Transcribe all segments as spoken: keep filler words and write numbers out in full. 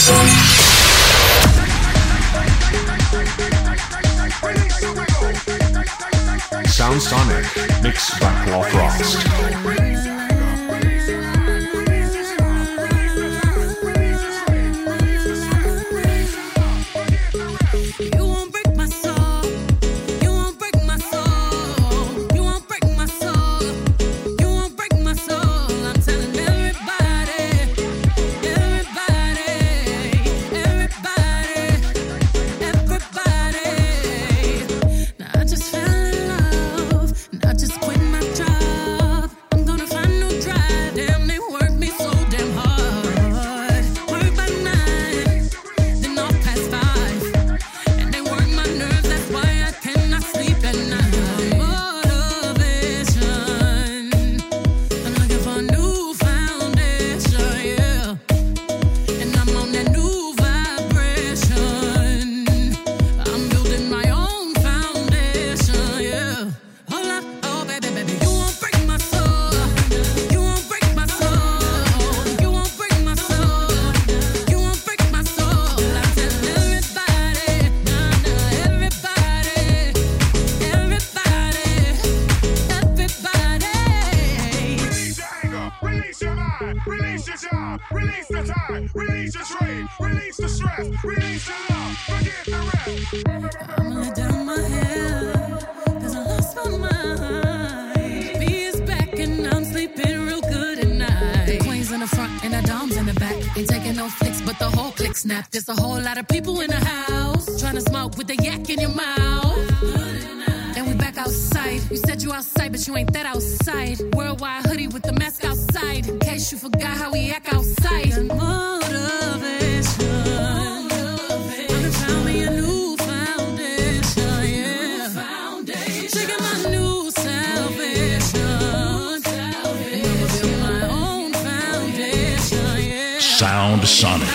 Sound Sonic, mixed by Paul Frost. There's a whole lot of people in the house trying to smoke with the yak in your mouth. And we back outside. You said you outside, but you ain't that outside. Worldwide hoodie with the mask outside. In case you forgot how we act outside. And motivation. I found me a new foundation, yeah. Checking my new salvation. And I'ma build my own foundation, yeah. Sound Sonic.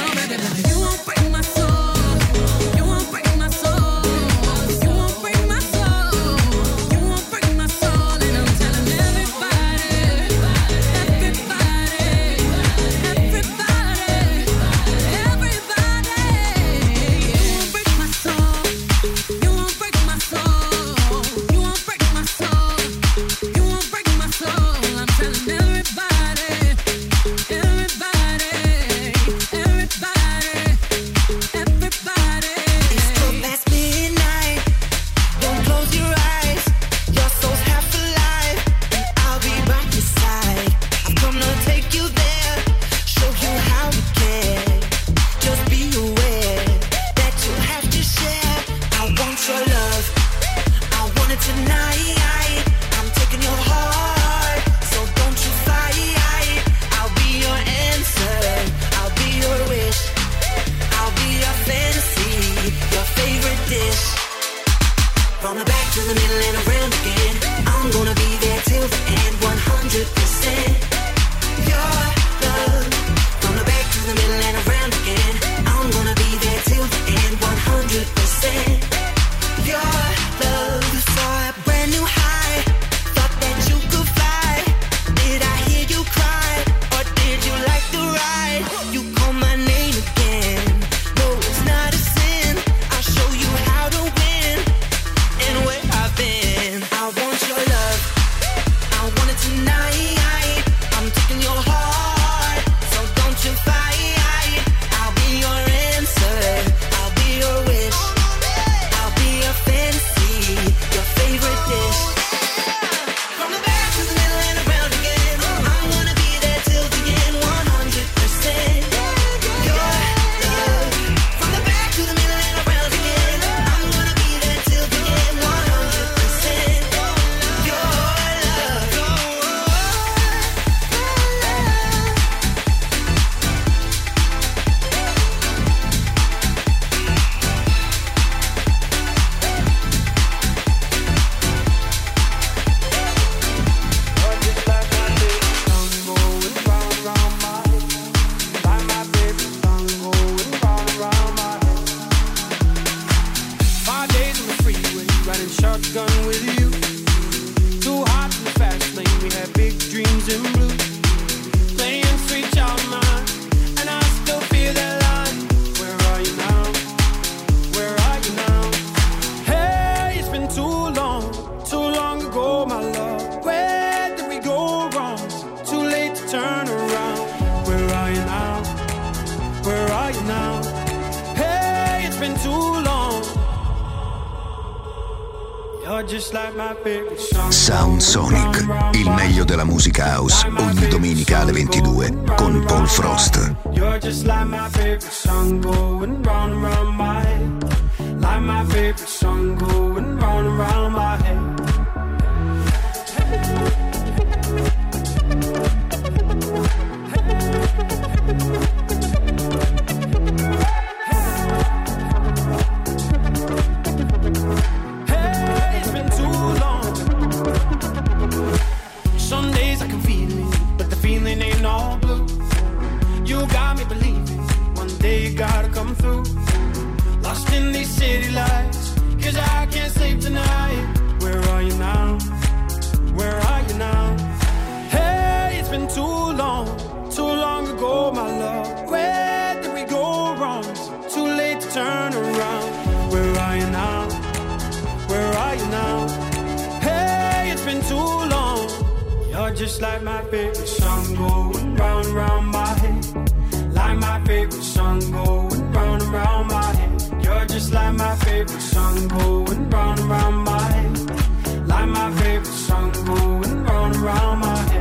Tonight too long. You're just like my favorite song. Sound Sonic, il meglio della musica house, ogni domenica alle ventidue con Paul Frost. You're just like my favorite song going round and round my head. Like my favorite song going round and round my head. Hey, it's been too long. Some days I can feel it, but the feeling ain't all blue. You got me believing one day you gotta come through. Lost in these city lights, cause I can't sleep tonight. Where are you now? Where are you now? Hey, it's been too long, too long ago, my love. Where did we go wrong? It's too late to turn around. Where are you now? Where are you now? Hey, it's been too long. You're just like my favorite song going round and round my head. Like my favorite song going round and round my head. You're just like my favorite song going round and round my head. Like my favorite song going round and round my head.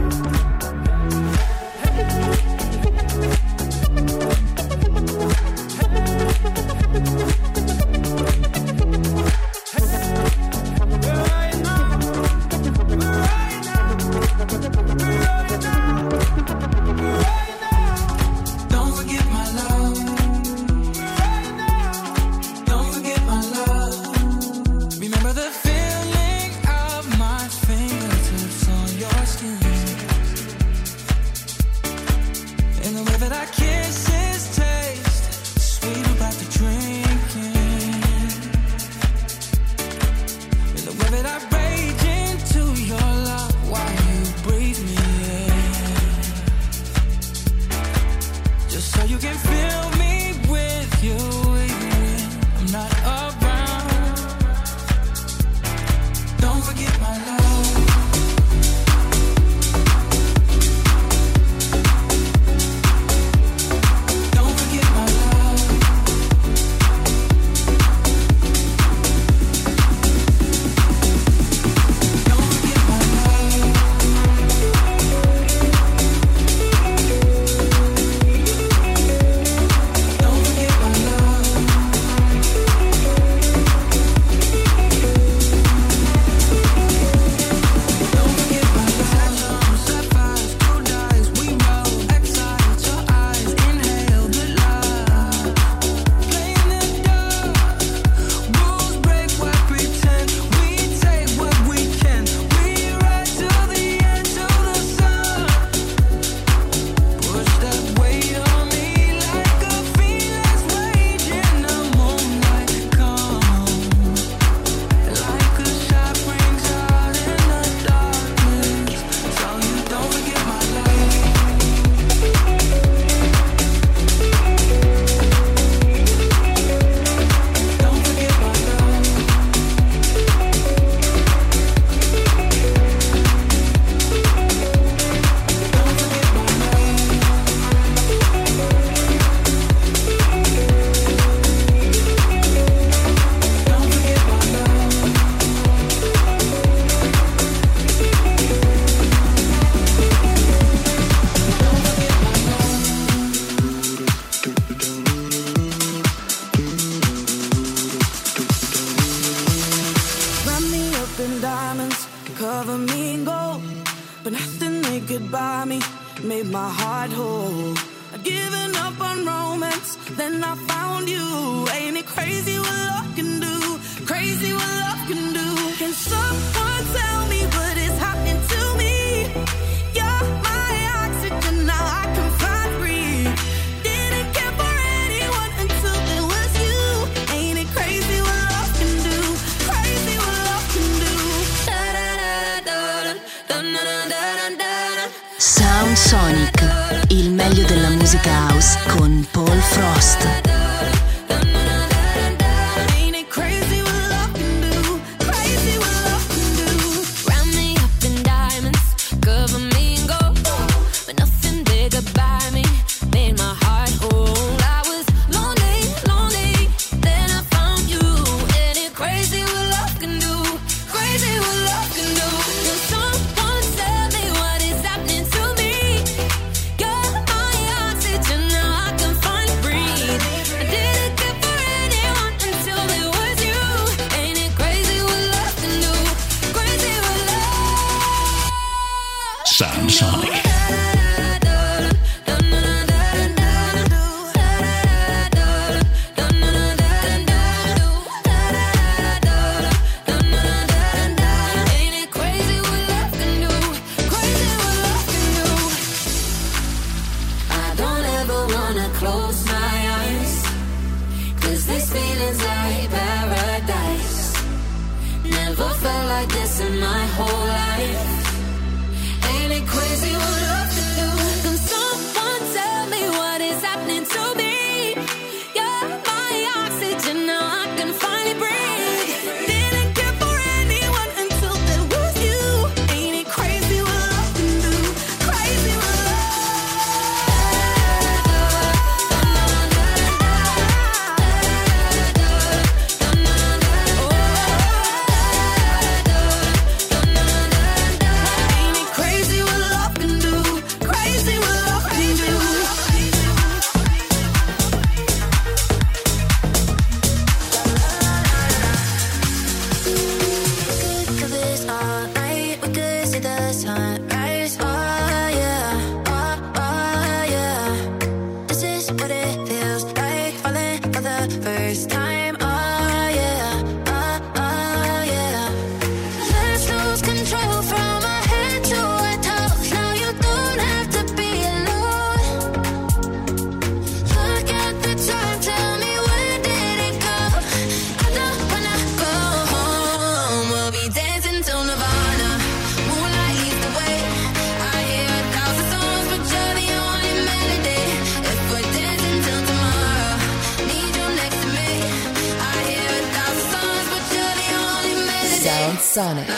Sound Sonic, il meglio della musica house con Paul Frost. Buy me, made my heart whole. I was lonely, lonely, then I Sound Sonic. In my whole life, ain't it crazy what love can do? Can someone tell me what is happening to me? You're my oxygen, now I can finally breathe. Didn't care for anyone until there was you. Ain't it crazy what love can do? Crazy what Sonic.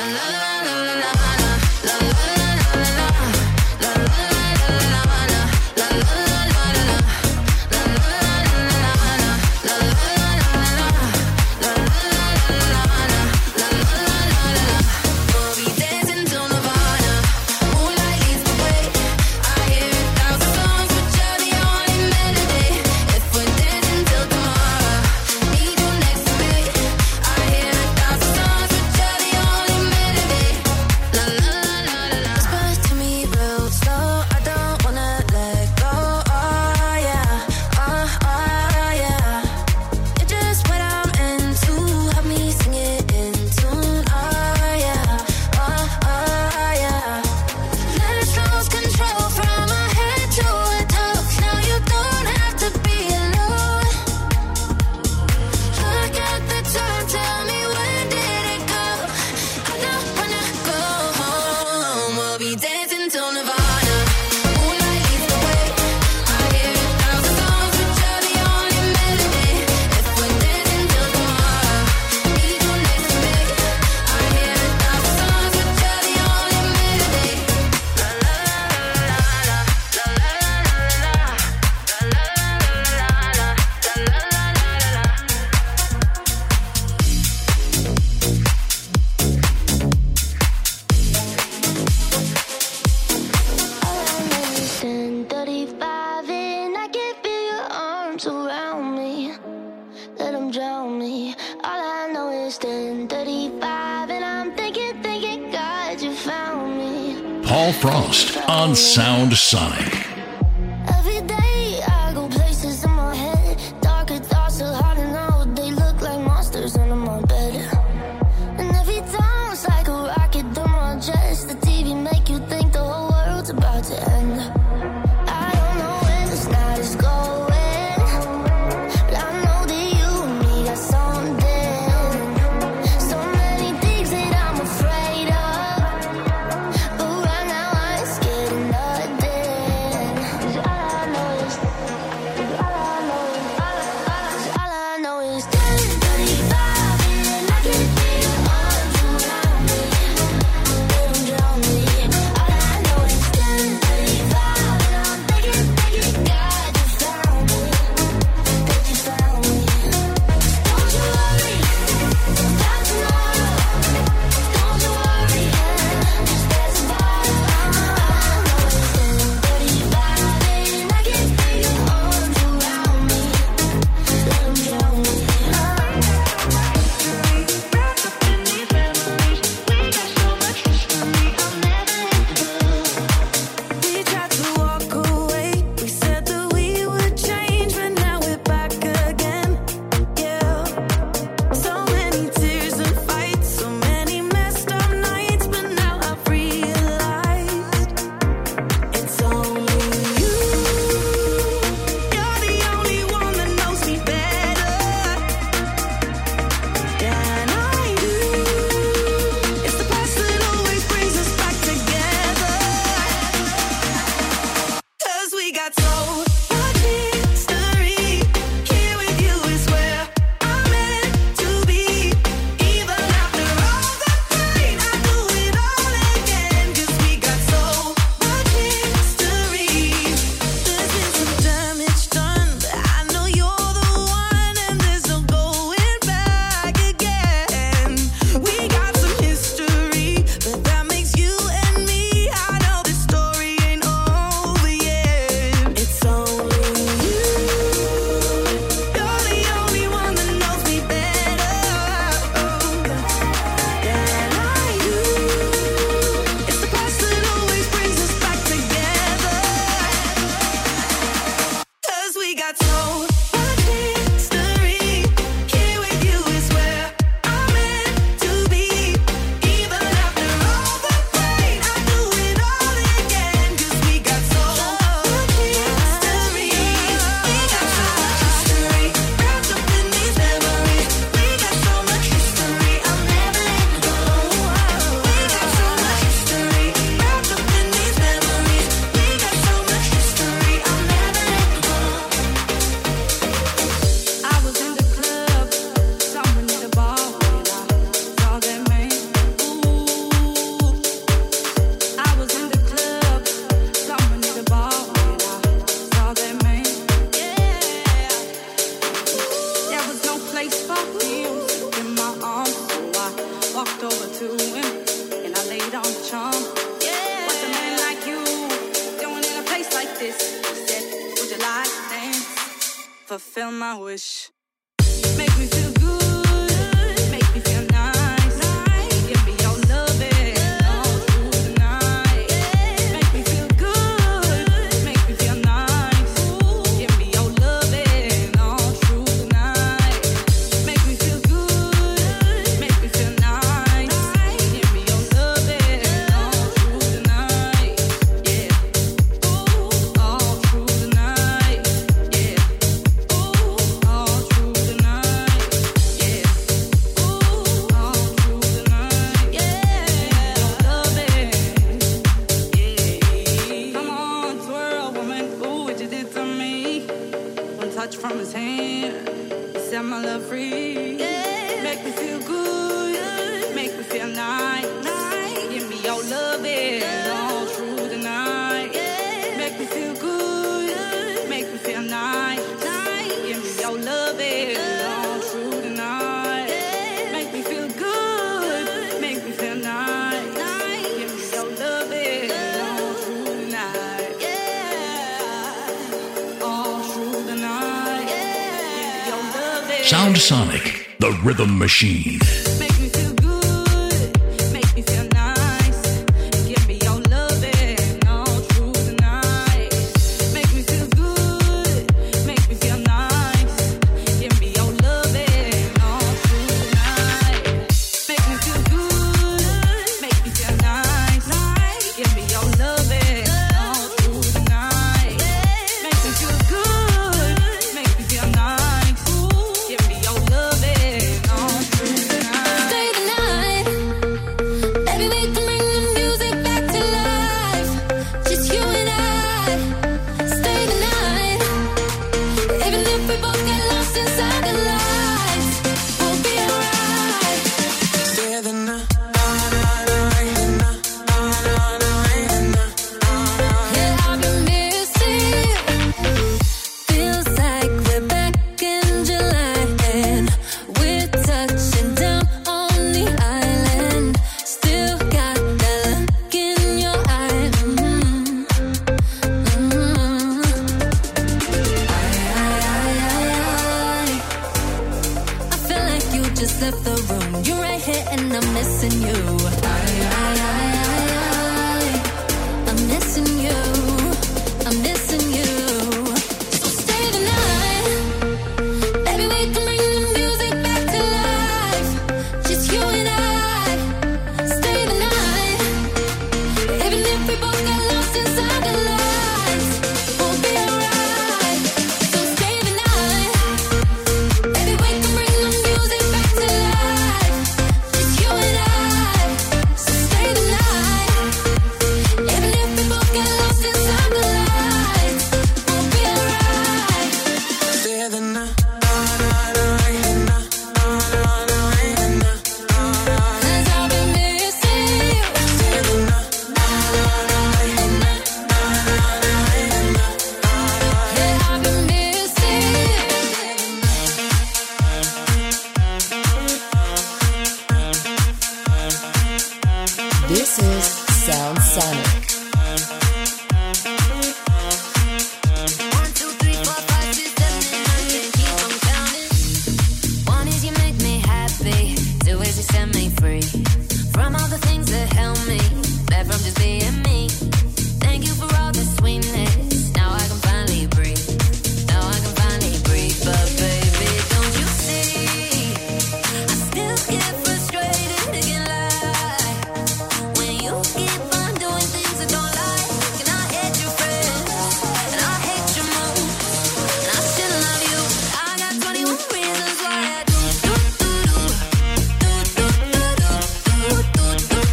Paul Frost on Sound Sonic. Every day I go places in my head. Darker thoughts are hard to know. They look like monsters under my bed. And every time it's like a rocket through my chest. The T V make you think the whole world's about to end. I don't know where this night is going, but I know that you and me got something. So many things that I'm afraid of, but right now I ain't scared of nothing. Fulfill my wish. Make me feel good, make me feel nice. Give me your loving all through the night. Make me feel good, make me feel nice. Give me your loving all through the night. Make me feel good, make me feel nice. Give me your loving all through the night. Yeah, all through the night. Yeah. All through the night, yeah. Ooh, all through the night, yeah. Love it, yeah. Come on, twirl, woman. Ooh, what you did to me. One touch from his hand, he set my love free. Yeah. Make me feel good, make me feel nice. Give me your loving all through the night. Make me feel good, make me feel nice. Give me your loving all through the night. Make me feel good, make me feel nice. Give me your loving all through the night. All through the night. Give me your loving. Sound Sonic, the rhythm machine. Make me feel good, make me feel nice. Give me your loving all through the night. Make me feel good, make me feel nice. Give me your loving all through the night. Make me feel good, make me feel nice. Give me your loving all through the night. Make me feel good, make me feel nice. Give me your loving all through the night. Stay the night. Baby, we can bring the music back to life. Just you and I. Stay the night. Even if we both get lost inside the lights, we'll be alright. Stay the night. Yeah, I've been missing. Feels like we're back in July and we're touching down on the island. Still got that look in your eye. Mm-hmm. Mm-hmm. I feel like you just left the room. You're right here and I'm missing you. I'm missing you. I'm missing you. So stay the night. Baby, we can bring the music back to life. Just you and I. Stay the night. Even if we both get lost inside the lights, we'll be alright. So stay the night. Baby, we can bring the music back to life. Just you and I. So stay the night. Even if we both get lost inside the lights, we'll be alright. Stay the night. Cause I've been missing you. Yeah, I've been missing you. This is Sound Sonic. One, two, three, four, five, six, seven, eight, nine, ten, keep on counting. One is you make me happy. Two is you set me free from all the things that held me back from just being me. Thank you for all the sweetness. Now I can finally breathe. Now I can finally breathe. But baby, don't you see? I still get frustrated and get lie when you keep on doing things I don't like. And I hate your friends and I hate your moves and I still love you. I got twenty-one reasons why I do do do do do do do do do do do.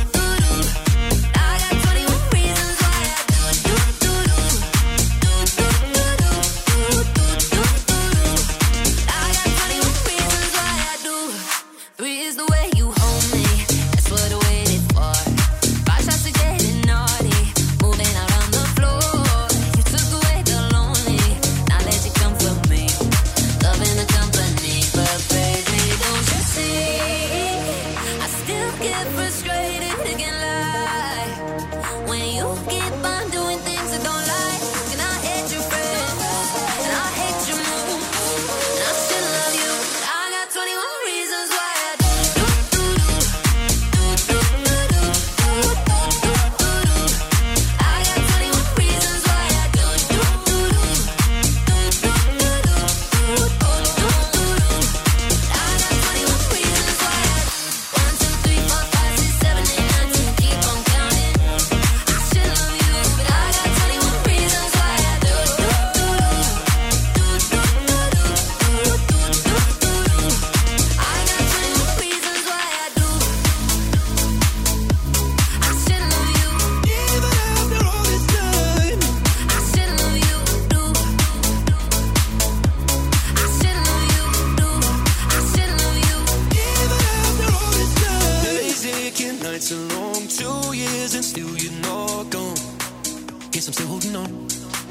Guess I'm still holding on.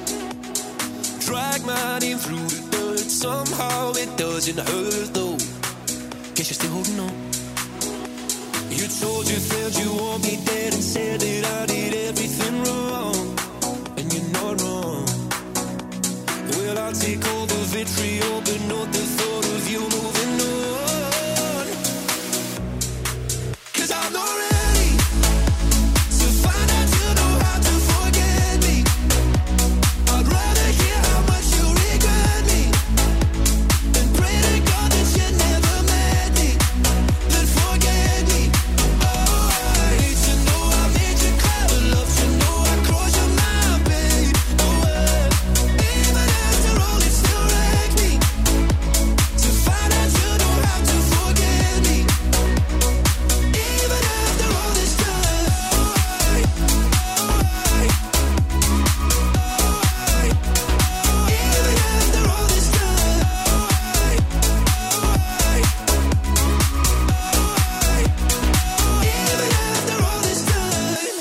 Drag my name through the dirt. Somehow it doesn't hurt though. Guess you're still holding on. You told your friends you want me dead and said that I did everything wrong. And you're not wrong. Well, I'll take all the vitriol, but not the thought of you moving on. 'Cause I'm not ready to find out you know how to forget me. I'd rather hear how much you regret me than pray to God that you never met me, then forget me. Oh, I hate to know I made you cry, but love to know I crossed your mind, babe. Oh, uh, even after all it still wrecks me to find out you know how to forget me. Even after all this time, oh, I, oh, I, oh, I, even after all this time, oh, I, oh, I, oh, I, even after all this time.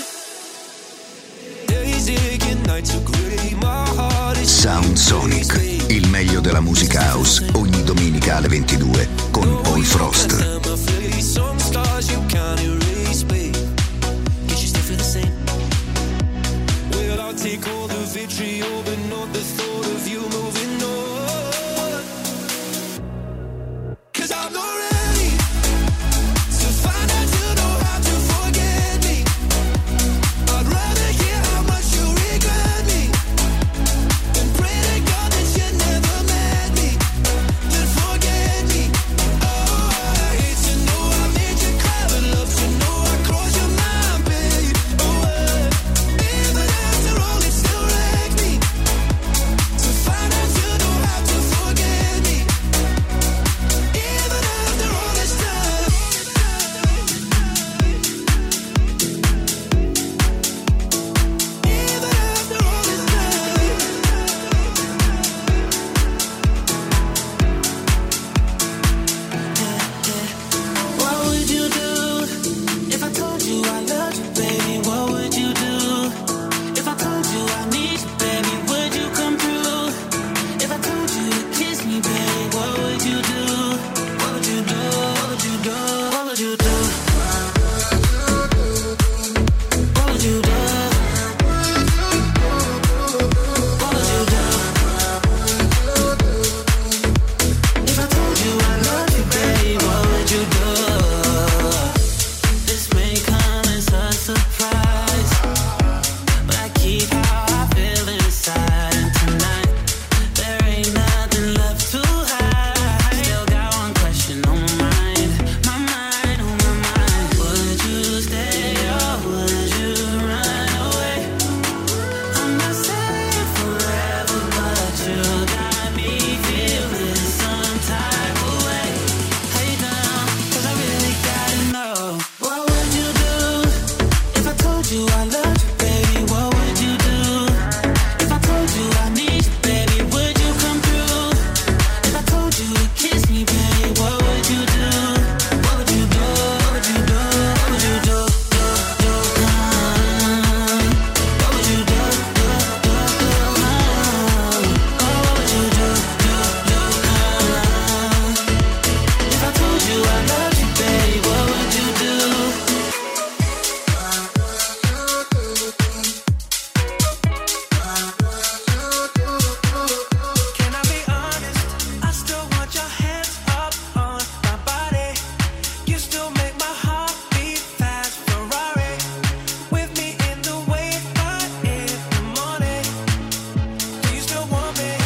Days aching, nights are gray, my heart is Sound Sonic, il meglio della musica house, ogni domenica alle ventidue con Paul Frost. Some scars you can't erase, babe. Guess you still feel the same. Well, I'll take all the vitriol, but not the thought of you moving on. 'Cause I'm not ready to find out you know how to forget me. I'd rather hear how much you regret me than pray to God that you never met me, then forget me. Oh, I hate to know I made you cry, but love to know I crossed your mind, babe. Oh, uh, even after all it still wrecks me to find out you know how to forget me. Even after all this time. Even after all this time. What would you do if I told you I loved you, baby? What would you do if I told you I need you, baby? Would you come through? If I told you to kiss me, baby, what would you do? What would you do? What would you do? What would you do? What would you do? What would you do? If I told you I love you, baby, what would you do? This may come as a surprise, but I keep how I feel inside. And tonight, there ain't nothing left to hide. Still got one question on my mind, my mind, on my mind. Would you stay or would you run away? I'm not saying forever, but you got me feeling some type of way. Hey down, 'cause I really gotta know. What would you do if I told you I loved you, baby? What would you do if I told you I need you, baby? Would you come through? If I told you to kiss me, baby, what would you do? What would you do? What would you do? What would you do? Do, do, uh, What would you do? Do, do, do, uh, Oh, what would you do? Do, do, uh, If I told you I loved you, baby, what would you do? Can I be honest? I still want your hands up on my body. You still make my heart beat fast. Ferrari with me in the wave, but in the morning. Do you still want me?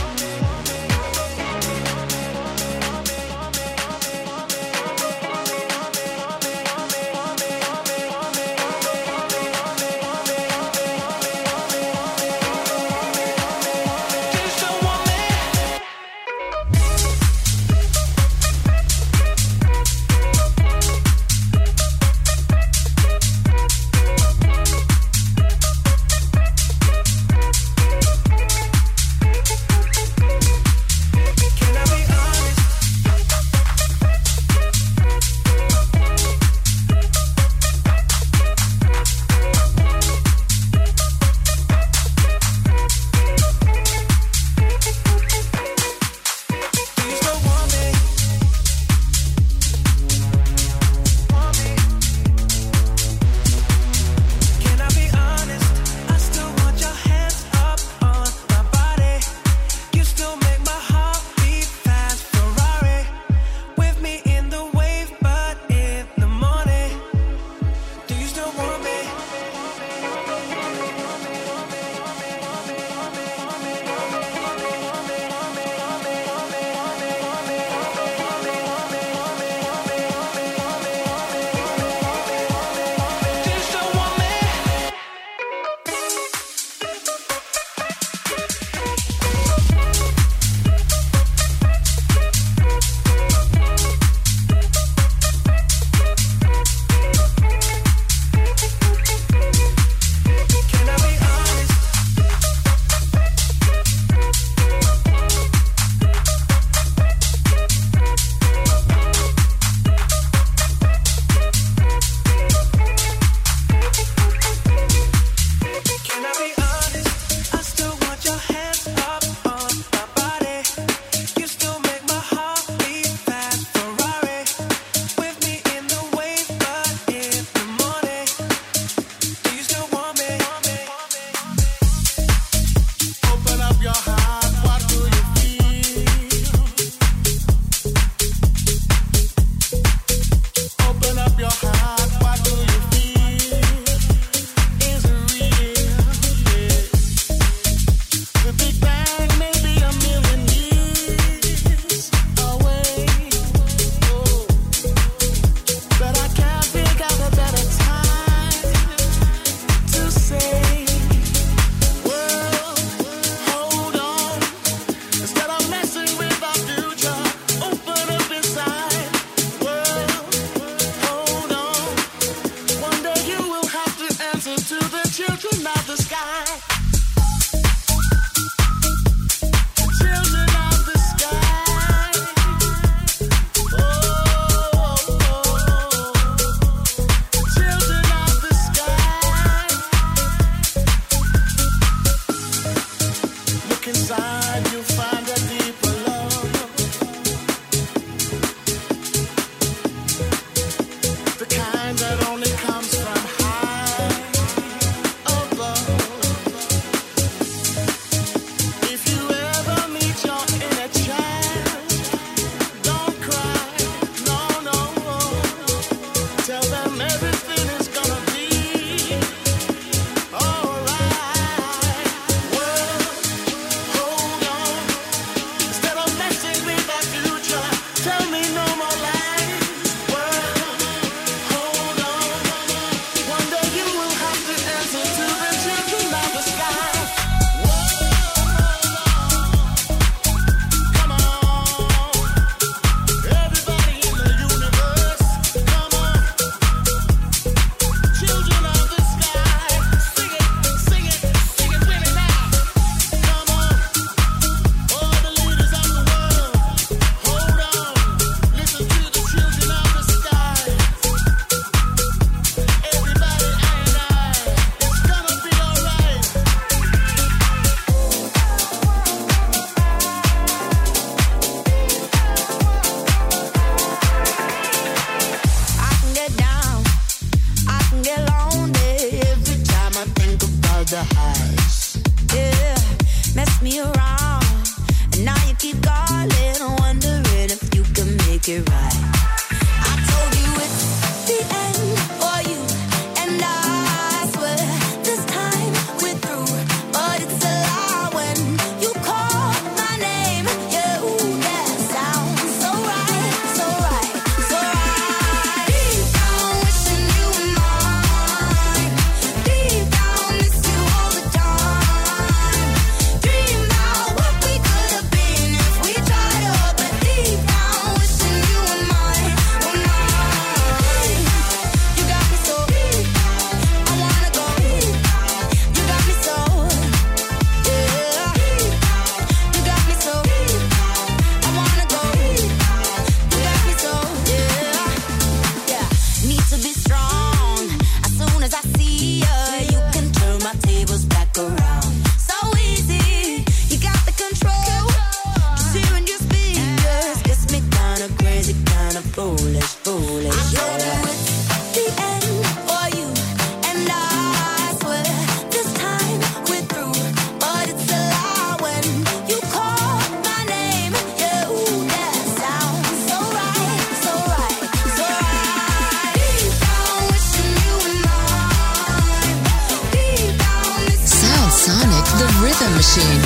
kinda foolish, foolish. I know that it's the end for you, and I swear this time we're through. But it's a lie when you call my name. Yeah, ooh, that sounds so right, so right, so right. Deep down wishing you were mine. Deep down this Sound Sonic, the Rhythm Machine.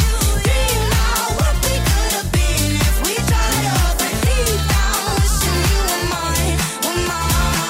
we tried us. Deep down wishing you were mine, were mine.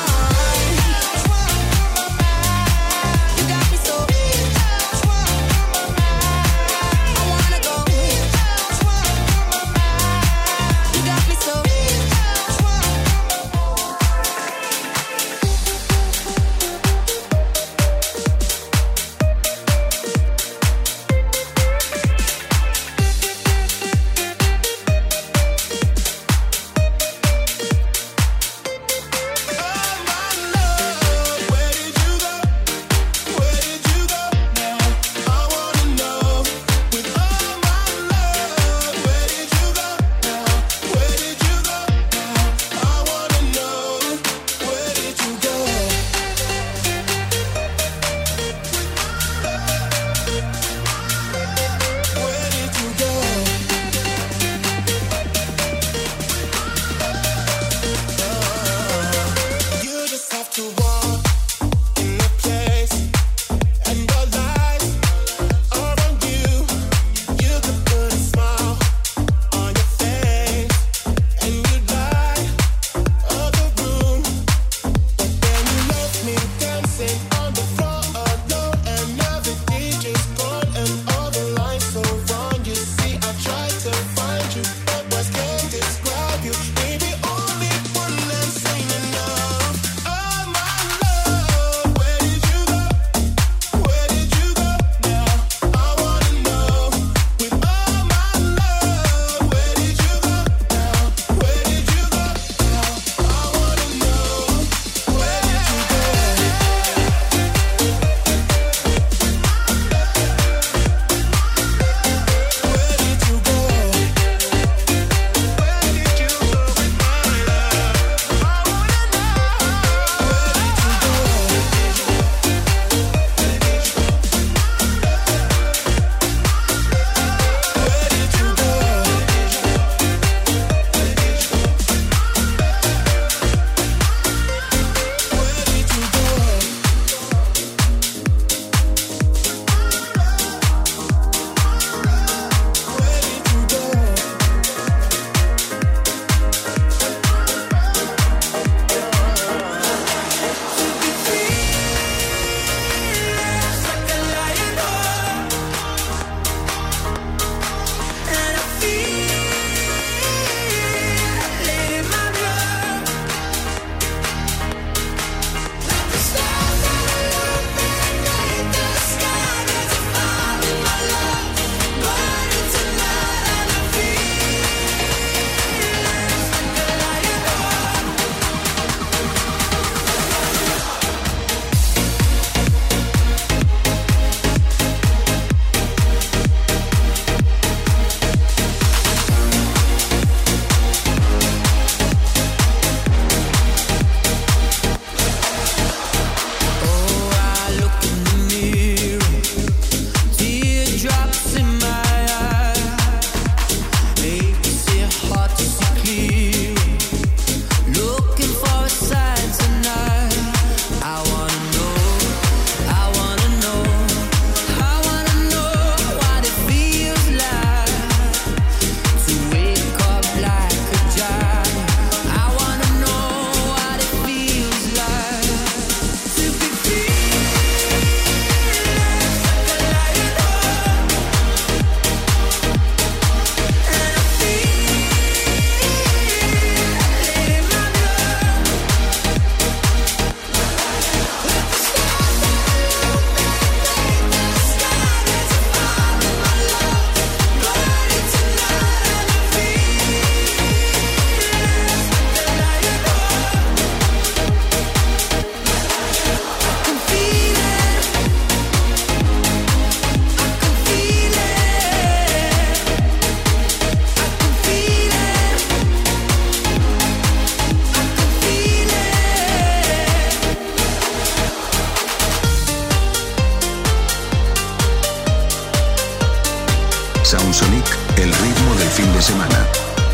Sound Sonic, el ritmo del fin de semana.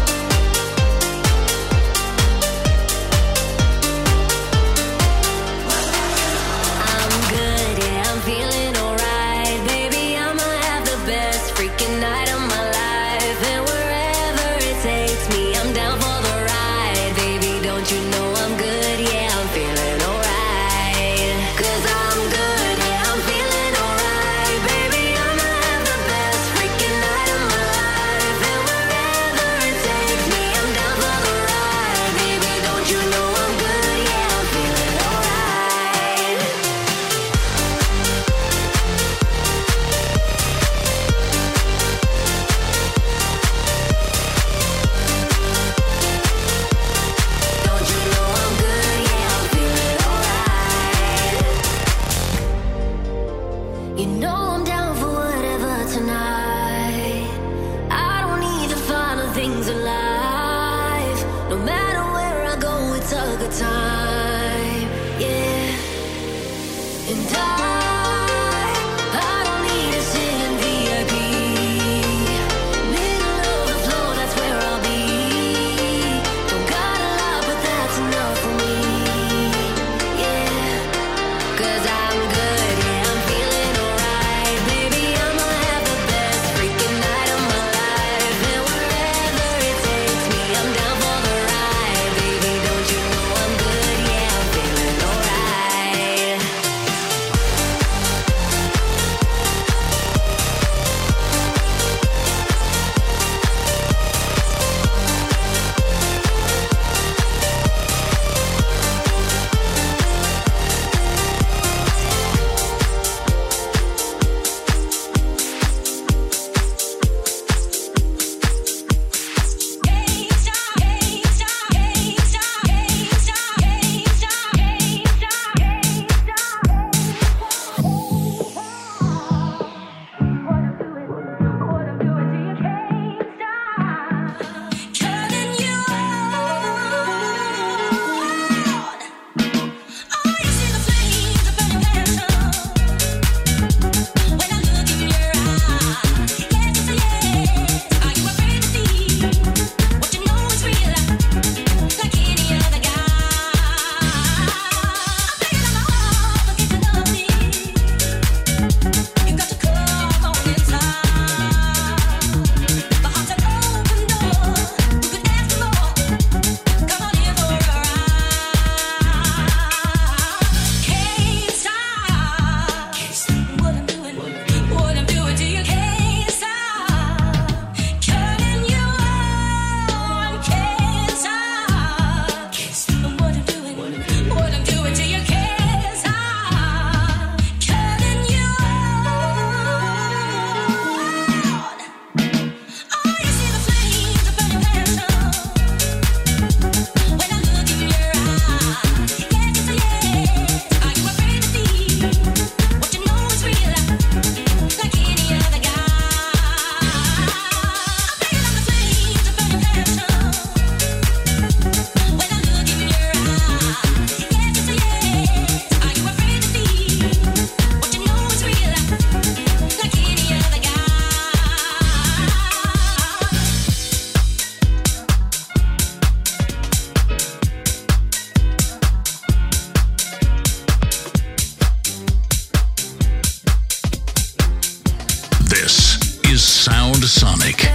Sonic.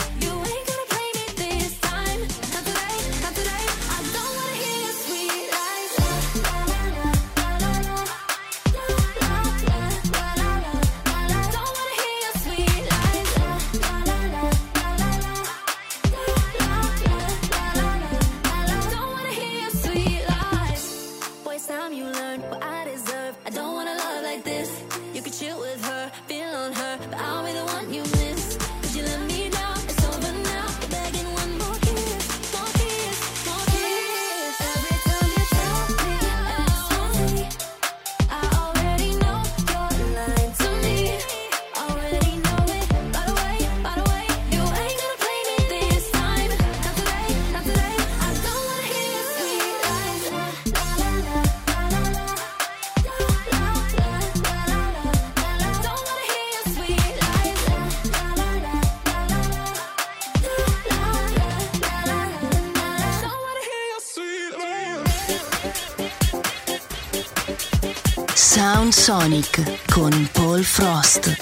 Sweet life. want her, but I'll be the one you miss. Did you let me down? It's over now. You're begging one more kiss, more kiss, more kiss. Every time you tell me it's only, I already know you're lying to me. Already know it. By the way, by the way, you ain't gonna play me this time. Not today, not today. I don't wanna hear your sweet lies. La la la la la la la. La la la la la la la. Don't wanna hear your sweet lies. La la la la la la la. La la la la la la. Don't wanna hear your sweet lies. Sound Sonic con Paul Frost.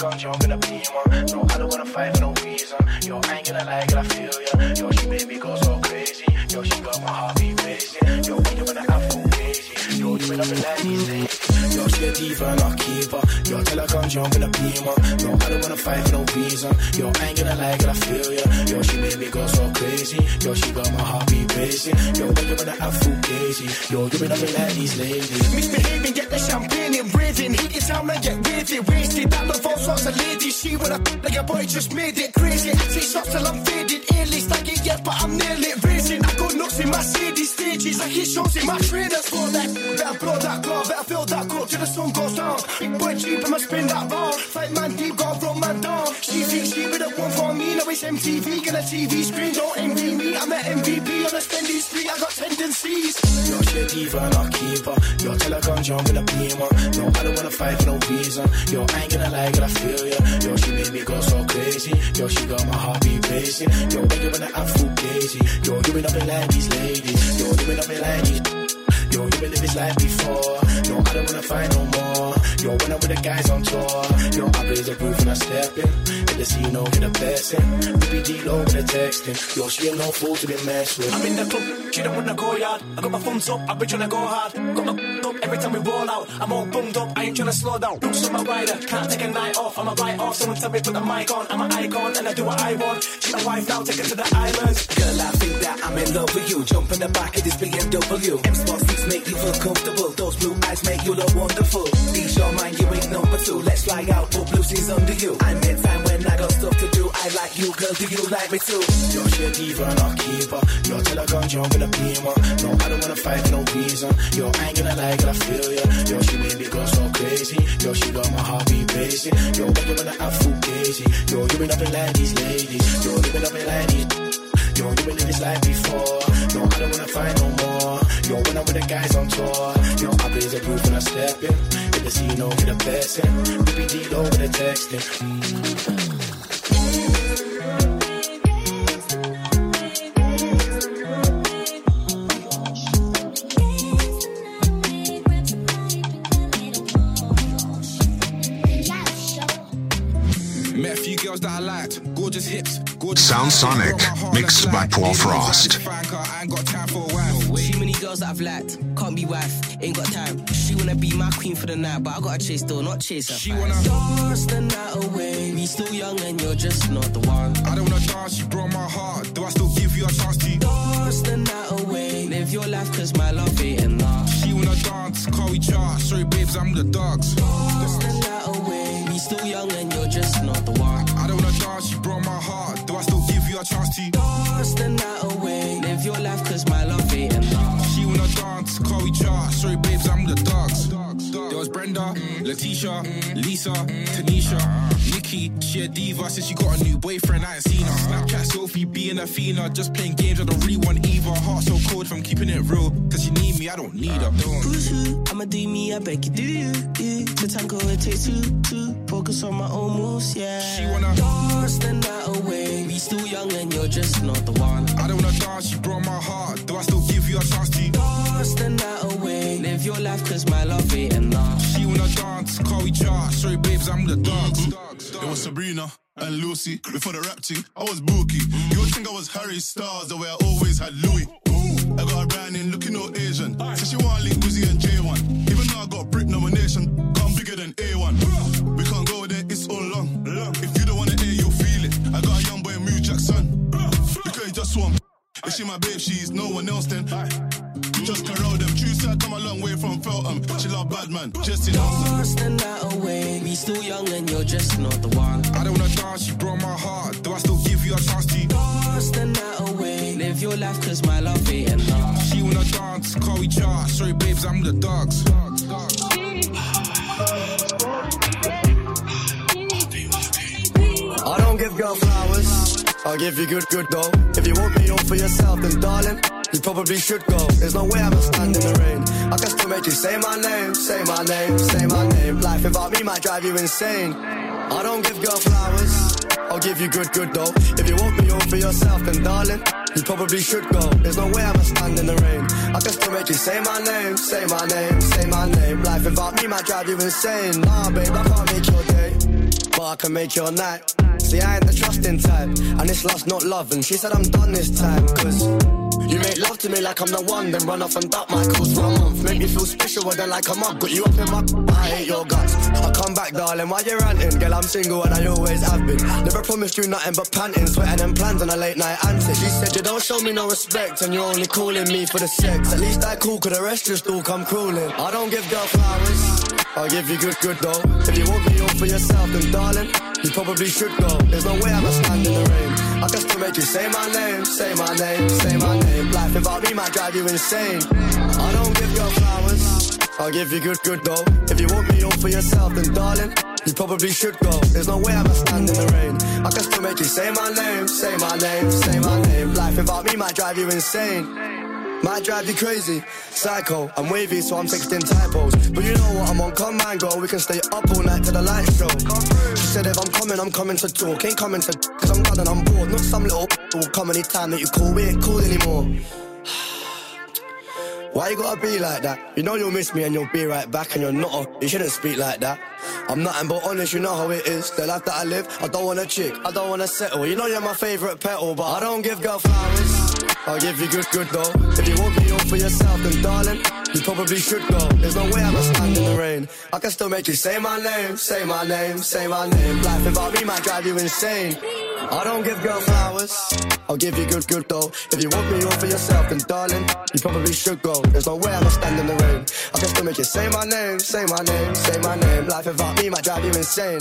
come jump in a beamer. No, I don't wanna fight for no reason. Yo, I ain't gonna lie, girl, I feel ya. Yo, she made me go so crazy. Yo, she got my heartbeat racing. Yo, when you wanna have full crazy. Yo, you been up in like these days. Yo, she a diva and a keeper. Yo, tell her come jump in a beamer. No, I don't wanna fight for no reason. Yo, I ain't gonna lie, girl, I feel ya. Yo, she made me go so crazy. Yo, she got my heartbeat racing. Yo, when you wanna have full crazy. Yo, you been up in like these ladies. Misbehaving, get the champagne in breathing. Heat it down and get with it. Wasted, that love all sorts of ladies. She wanna like a boy just made it crazy. I take shots till I'm faded. Ain't least like it yet, but I'm nearly racing. I go nuts in my city stages. I hit shows in my trainers for that. Better blow that glove, better fill that cup till the sun goes down. Big boy cheap, I'ma spin that round. Fight man deep, gotta run man down. She thinks she be the one for me. Now it's M T V, get a T V screen. Don't envy me, I'm an M V P on a spending street. I got tendencies. Yo, she a diva and a keeper. Yo, tell her come jump in a beamer. No, I don't wanna fight for no reason. Yo, I ain't gonna lie, girl, I feel ya. Yo, she made me go so crazy. Yo, she got my heartbeat racing. Yo, when you wanna have full crazy. Yo, you been up in like these ladies. Yo, you been up in like these. Yo, you been live this life before. Yo, I don't wanna fight no more. Yo, when I'm with the guys on tour. Yo, I blaze the roof and I step in. Hit the scene, no, get a blessing. B P G low with the texting. Yo, she ain't no fool to be messed with. I'm in the club, she don't wanna go yard. I got my thumbs up, I've been tryna go hard. Got my up every time we roll out. I'm all bummed up, I ain't tryna slow down. Looks on my rider, can't take a night off. I'm a write off, someone tell me put the mic on. I'm an icon and I do what I want. She my wife now, take her to the islands. Girl, I think that I'm in love with you. Jump in the back of this B M W. M-Sport seats make you feel comfortable. Those blue eyes make you look wonderful. Ease your mind, you ain't number two. Let's fly out, put blue seas under you. I'm in time when I got stuff to do. I like you, girl, do you like me too? Yo, she a diva and a keeper. Yo, tell her come jump in a beamer. No, I don't wanna fight for no reason. Yo, I ain't gonna lie, girl, I feel ya. Yo, she made me go so crazy. Yo, she got my heartbeat racing. Yo, when you wanna have full crazy. Yo, you been up in like these ladies. Yo, you been up in like these. Yo, you been in this life before. No, I don't wanna fight no more. Yo, when I'm with the guys on tour. Yo, I blaze the roof and I step in. Hit the scene, no, get a blessing. B P D low with the texting. That I liked, gorgeous hips, gorgeous Sound Sonic, mixed by Paul Frost. Too many girls that I've liked, can't be wife, ain't got time. She wanna be my queen for the night, but I gotta chase though, not chase her. She wanna dance the night away. We still young and you're just not the one. I don't wanna dance, you broke my heart. Do I still give you a chance to dance the night away? Live your life, cause my love ain't enough. She wanna dance, call we chart. Sorry babes, I'm with the dogs. Dance the night away. We still young and you're just not the one. I don't wanna dance, you broke my heart. Do I still give you a chance to dance the night away? Live your life, cause my love ain't enough. She wanna dance, call we chart. Sorry babes, I'm with the dogs. There was Brenda, Letitia, Lisa, Tanisha, Nikki. She a diva since she got a new boyfriend, I ain't seen her. Snapchat Sophie being a Fina, just playing games, I don't really want either. Heart so cold from keeping it real, cause you need me, I don't need her. Who's who? I'ma do me, I beg you, do you? Yeah. To tango it takes two, two. Focus on my own moves, yeah. She wanna dance the night away. We still young and you're just not the one. I don't wanna dance, you broke my heart. Do I still give you a chance to dance the night away? Live your life, cause my love ain't enough. She wanna dance, call we chart. Sorry babes, I'm with the dogs. It was Sabrina and Lucy. Before the rap team, I was Bookie. You would think I was Harry Styles, the way I always had Louis. I got a brand in looking all Asian. Said she want link Wizzy and J one. Even though I got Brit nomination, I'm bigger than A one. We can't go there, it's all long. If you don't wanna hear, you'll feel it. I got a young boy, Mew Jackson. Because he just want. If she my babe, she's no one else then. Just corral them. True said, come a long way from Feltham. She love bad man, just in dance the night away. We still young and you're just not the one. I don't wanna dance, you broke my heart. Do I still give you a chance to dance the night away? Live your life, cause my love ain't enough. She wanna dance, call we chart. Sorry babes, I'm with the dogs. I don't give girl flowers, I'll give you good, good though. If you want me all for yourself, then darling, you probably should go. There's no way I'ma stand in the rain. I can still make you say my name, say my name, say my name. Life without me might drive you insane. I don't give girl flowers, I'll give you good, good though. If you want me all for yourself, then darling, you probably should go. There's no way I'ma stand in the rain. I can still make you say my name, say my name, say my name. Life without me might might drive you insane. Nah, babe, I can't make your day, but I can make your night. See, I ain't the trusting type, and it's lust, not love. And she said I'm done this time, cause you make love to me like I'm the one, then run off and duck my calls for a month. Make me feel special, then like I'm up. Got you up in my, I hate your guts. I come back, darling, why you ranting? Girl, I'm single and I always have been. Never promised you nothing but panting, sweating and plans on a late night antic. She said you don't show me no respect, and you're only calling me for the sex. At least I cool, cause the rest just all come crawling. I don't give girl flowers, I'll give you good, good though. If you want me all for yourself, then darling, you probably should go. There's no way I'ma stand in the rain. I can still make you say my name, say my name, say my name. Life without me might drive you insane. I don't give girl flowers, I'll give you good, good though. If you want me all for yourself, then darling, you probably should go. There's no way I'ma stand in the rain. I can still make you say my name, say my name, say my name. Life without me might drive you insane. Might drive you crazy, psycho, I'm wavy so I'm texting typos. But you know what, I'm on command, girl, we can stay up all night to the light show. She said if I'm coming, I'm coming to talk. Ain't coming to cause I'm done and I'm bored. Not some little who will come anytime that you call, we ain't cool anymore. Why you gotta be like that? You know you'll miss me and you'll be right back, and you're not a, you shouldn't speak like that. I'm nothing but honest, you know how it is. The life that I live, I don't want a chick, I don't wanna settle. You know you're my favourite petal, but I don't give girl flowers, I'll give you good, good though. If you want me all for yourself, then darling, you probably should go. There's no way I'ma stand in the rain. I can still make you say my name, say my name, say my name. Life without me might drive you insane. I don't give girl flowers, I'll give you good, good though. If you want me all for yourself, then darling, you probably should go. There's no way I'ma stand in the rain. I can still make you say my name, say my name, say my name. Life without me might drive you insane.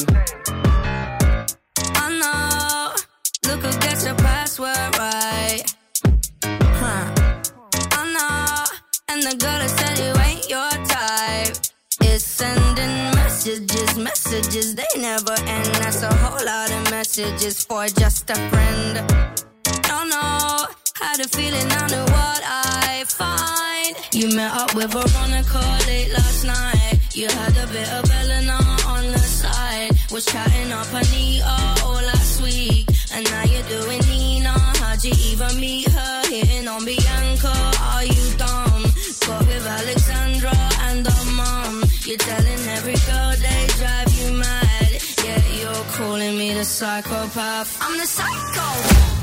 I know, look who gets your password right. Huh. I know, and the girl that said you ain't your type is sending messages, messages, they never end. That's a whole lot of messages for just a friend. Don't know how to feel it, I know what I find. You met up with Veronica late last night. You had a bit of Elena on the side. Was chatting up Anita all last week, and now you're doing Nina. How'd you even meet her? Hitting on Bianca, are you dumb? Got with Alexandra and her mum. You're telling every girl they drive you mad. Yeah, you're calling me the psychopath. I'm the psycho.